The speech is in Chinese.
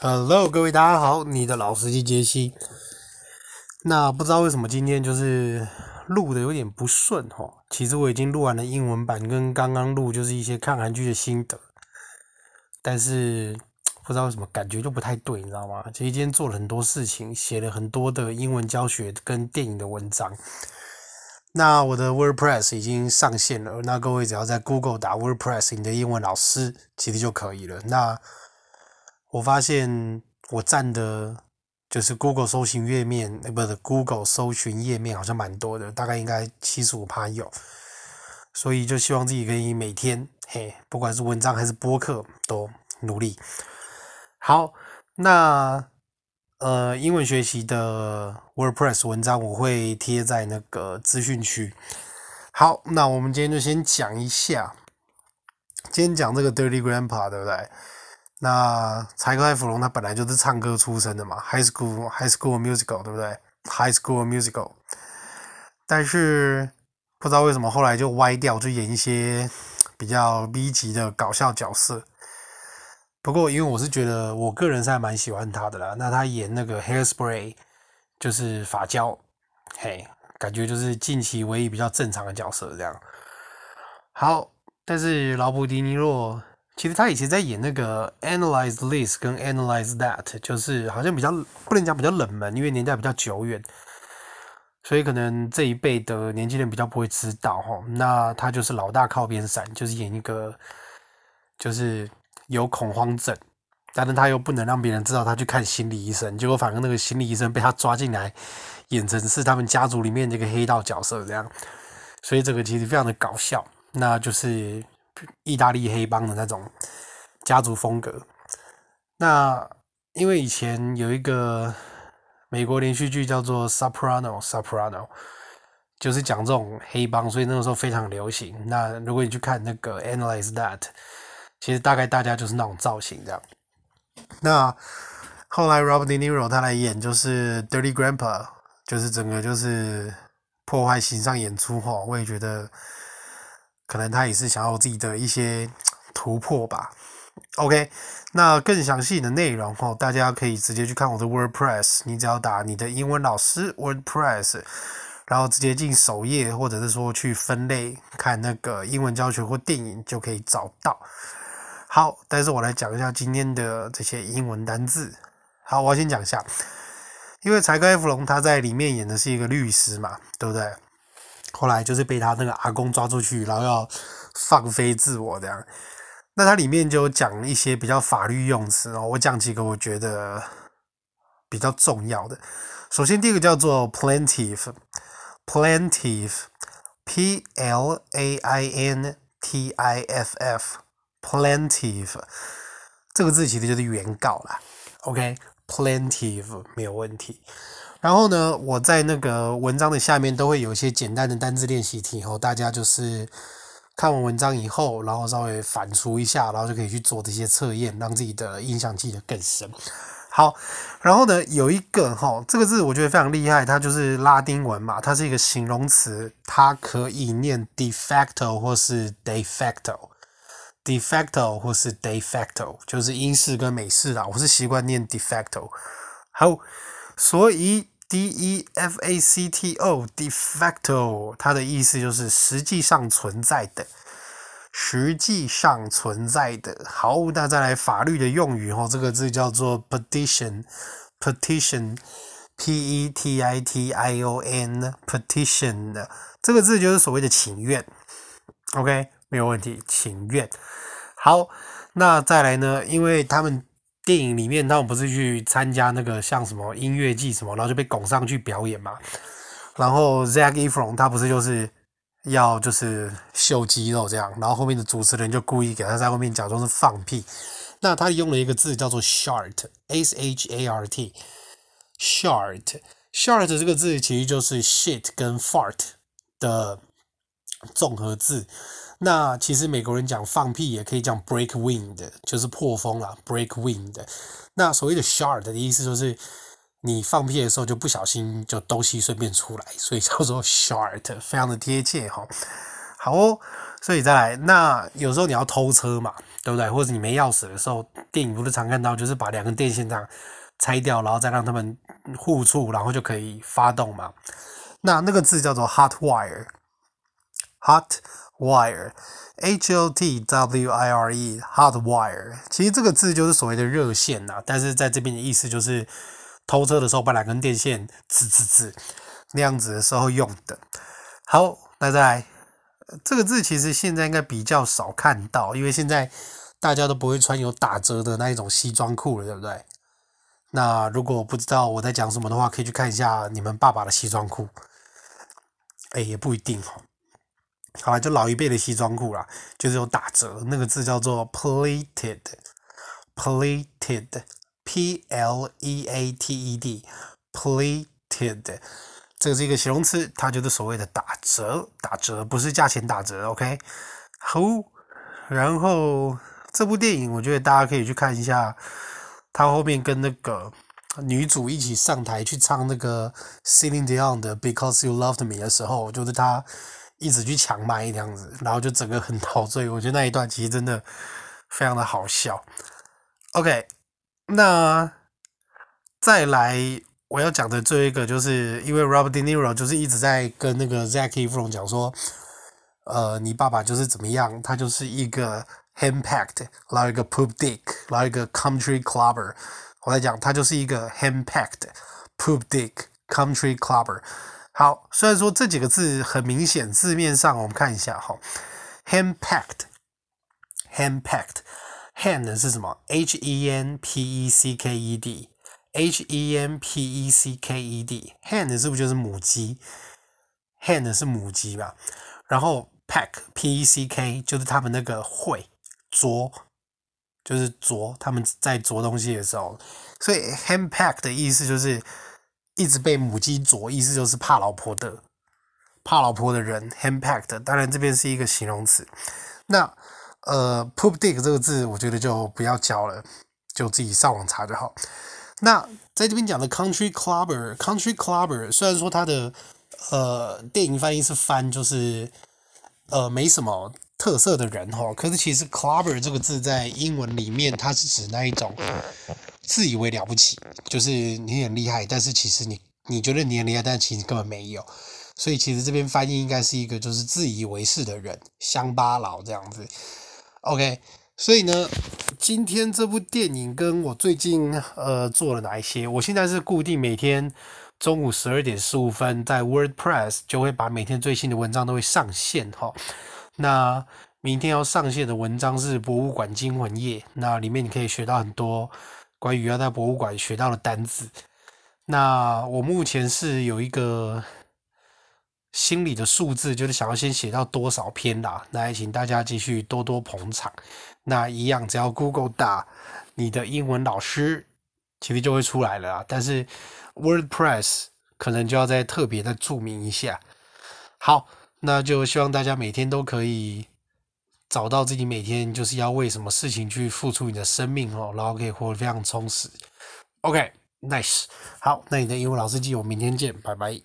Hello，各位大家好，你的老司機傑西。那不知道為什麼今天就是錄的有點不順齁。其實我已經錄完了英文版，跟剛剛錄就是一些看韓劇的心得，但是不知道為什麼感覺就不太對，你知道嗎？其實今天做了很多事情，寫了很多的英文教學跟電影的文章。那我的 WordPress 已經上線了，那各位只要在 Google 打 WordPress 你的英文老師，其實就可以了。那我發現我占的就是 Google 搜尋頁面，不是 Google 搜尋頁面好像蠻多的，大概應該75%有，所以就希望自己可以每天，不管是文章還是播客都努力。好，那英文學習的 WordPress 文章我會貼在那個資訊區。好，那我們今天就先講一下，今天講這個 Dirty Grandpa， 對不對？那柴克·艾弗隆他本來就是唱歌出身的嘛 ，High School Musical， 對不對 ？High School Musical， 但是不知道為什麼後來就歪掉，就演一些比較 B 級的搞笑角色。不過因為我是覺得我個人是還蠻喜歡他的啦，那他演那個 Hairspray 就是髮膠，感覺就是近期唯一比較正常的角色這樣。好，但是勞勃·迪尼洛。其實他以前在演那個 Analyze This 跟 Analyze That， 就是好像比較不能講比較冷門，因為年代比較久遠，所以可能這一輩的年輕人比較不會知道齁。那他就是老大靠邊站，就是演一個就是有恐慌症，但是他又不能讓別人知道他去看心理醫生，結果反而那個心理醫生被他抓進來，演成是他們家族裡面這個黑道角色這樣，所以這個其實非常的搞笑，那就是意大利黑幫的那種家族風格。那因為以前有一個美國連續劇叫做 Soprano， 就是講這種黑幫，所以那個時候非常流行。那如果你去看那個 Analyze That， 其實大概大家就是那種造型這樣。那後來 Robert De Niro 他來演就是 Dirty Grandpa， 就是整個就是破壞形象演出齁，我也覺得可能他也是想要自己的一些突破吧。OK， 那更詳細的內容大家可以直接去看我的 WordPress， 你只要打你的英文老師 WordPress， 然後直接進首頁，或者是說去分類看那個英文教學或電影就可以找到。好，但是我來講一下今天的這些英文單字。好，我要先講一下，因為柴克·艾弗隆他在裡面演的是一個律師嘛，對不對？後來就是被他那個阿公抓出去，然後要放飛自我這樣。那他裡面就講一些比較法律用詞哦，我講幾個我覺得比較重要的。首先第一個叫做 plaintiff， P-L-A-I-N-T-I-F-F， 這個字其實就是原告啦。OK， plaintiff 沒有問題。然後呢，我在那個文章的下面都會有一些簡單的單字練習題，大家就是看完文章以後，然後稍微反芻一下，然後就可以去做這些測驗，讓自己的印象記得更深。好，然後呢，有一個這個字我覺得非常厲害，它就是拉丁文嘛，它是一個形容詞，它可以念 de facto 或是 de facto。de facto 或是 de facto 就是英式跟美式啦，我是習慣念 de facto。好，所以 D-E-F-A-C-T-O de facto 它的意思就是實際上存在的，實際上存在的。好，那再來法律的用語這個字叫做 petition P-E-T-I-T-I-O-N petition 這個字就是所謂的請願。OK， 沒有問題，請願。好，那再來呢，因為他們電影裡面他們不是去參加那個像什麼音樂季什麼，然後就被拱上去表演嘛。然後 Zac Efron 他不是就是要就是秀肌肉這樣，然後後面的主持人就故意給他在後面假裝是放屁。那他用了一個字叫做 shart S-H-A-R-T shart 這個字其實就是 shit 跟 fart 的綜合字。那其實美國人講放屁也可以講 break wind， 就是破風啦 break wind。那所謂的 shart 的意思就是你放屁的時候就不小心就東西順便出來，所以叫做 shart， 非常的貼切齁。好哦， 所以再來，那有時候你要偷車嘛，對不對？或者你沒鑰匙的時候，電影不是常看到，就是把兩根電線這樣拆掉，然後再讓他們互觸，然後就可以發動嘛。那個字叫做 hot wire，hot wire，H-O-T-W-I-R-E，hot wire。其實這個字就是所謂的熱線吶，但是在這邊的意思就是偷車的時候把兩根電線刺那樣子的時候用的。好，那再來。這個字其實現在應該比較少看到，因為現在大家都不會穿有打折的那一種西裝褲了，對不對？那如果不知道我在講什麼的話，可以去看一下你們爸爸的西裝褲。也不一定哦。好啦，就老一輩的西裝褲啦，就是有打折，那個字叫做 pleated，pleated，P-L-E-A-T-E-D，pleated。這個是一個形容詞，它就是所謂的打折，不是價錢打折 ，OK？ 好，然後這部電影我覺得大家可以去看一下，他後面跟那個女主一起上台去唱那個 Celine Dion 的 Because You Loved Me 的時候，就是他一直去搶麥這樣子，然後就整個很陶醉，我覺得那一段其實真的非常的好笑。OK， 那再來。我要講的最後一個，就是因為 Robert De Niro 就是一直在跟那個 Zac Efron 講說，你爸爸就是怎麼樣，他就是一個 hand-packed， 然後一個 poop dick， 然後一個 country clubber。我來講，他就是一個 hand-packed poop dick country clubber。好，雖然說這幾個字很明顯，字面上我們看一下哈 ，hand-packed，hand 是什麼 ？H-E-N-P-E-C-K-E-D，H-E-N-P-E-C-K-E-D，hand 是不是就是母雞 ？hand 是母雞吧？然後 pack，P-E-C-K 就是他們那個會啄，就是啄，他們在啄東西的時候，所以 hand pack 的意思就是一直被母雞啄，意思就是怕老婆的人 hand packed。當然這邊是一個形容詞。那poop dick 這個字，我覺得就不要教了，就自己上網查就好。那在這邊講的 country clubber 雖然說它的電影翻譯是翻就是沒什麼特色的人齁，可是其實 clubber 這個字在英文裡面它是指那一種自以為了不起，就是你很厲害，但是其實你覺得你很厲害，但其實根本沒有。所以其實這邊翻譯應該是一個就是自以為是的人，鄉巴佬這樣子。OK， 所以呢，今天這部電影跟我最近做了哪一些？我現在是固定每天中午12:15在 WordPress 就會把每天最新的文章都會上線齁。那明天要上線的文章是博物館驚魂夜，那裡面你可以學到很多關於要在博物館學到的單字。那我目前是有一個心裡的數字，就是想要先寫到多少篇啦，那也請大家繼續多多捧場。那一樣，只要 Google 打你的英文老師，其實就會出來了啦。但是 WordPress 可能就要再特別的注明一下。好，那就希望大家每天都可以找到自己每天就是要為什麼事情去付出你的生命哦，然後可以活得非常充實。OK，nice。好，那你的英文老師記，我明天見，拜拜。